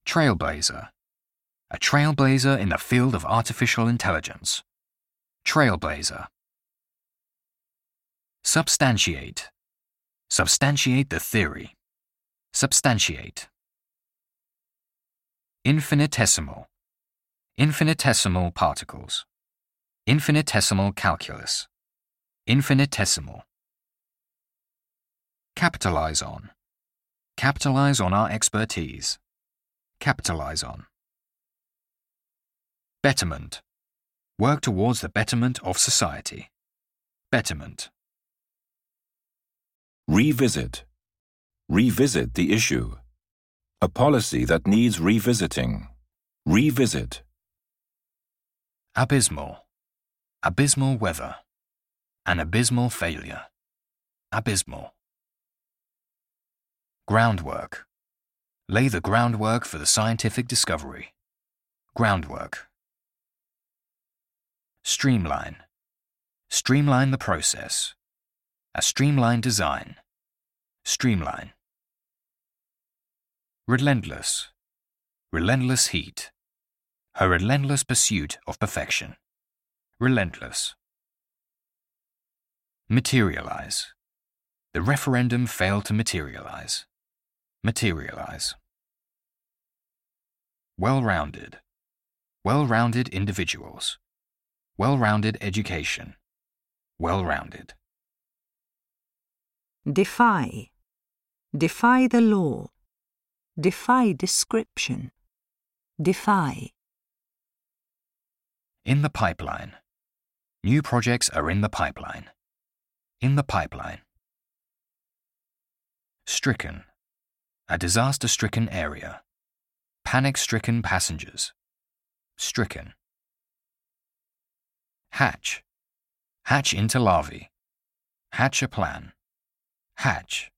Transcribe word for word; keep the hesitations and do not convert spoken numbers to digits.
Trailblazer. A trailblazer in the field of artificial intelligence. Trailblazer. Substantiate. Substantiate the theory. Substantiate. Infinitesimal. Infinitesimal particles. Infinitesimal calculus. Infinitesimal. Capitalize on. Capitalize on our expertise. Capitalize on. Betterment. Work towards the betterment of society. Betterment. Revisit. Revisit the issue. A policy that needs revisiting. Revisit. Abysmal. Abysmal weather. An abysmal failure. Abysmal. Groundwork. Lay the groundwork for the scientific discovery. Groundwork. Streamline. Streamline the process. A streamlined design. Streamline. Relentless. Relentless heat. Her relentless pursuit of perfection. Relentless. Materialize. The referendum failed to materialize. Materialize. Well-rounded. Well-rounded individuals. Well-rounded education. Well-rounded. Defy. Defy the law. Defy description. Defy. In the pipeline. New projects are in the pipeline. In the pipeline. Stricken. A disaster-stricken area. Panic-stricken passengers. Stricken. Hatch. Hatch into larvae. Hatch a plan. Hatch.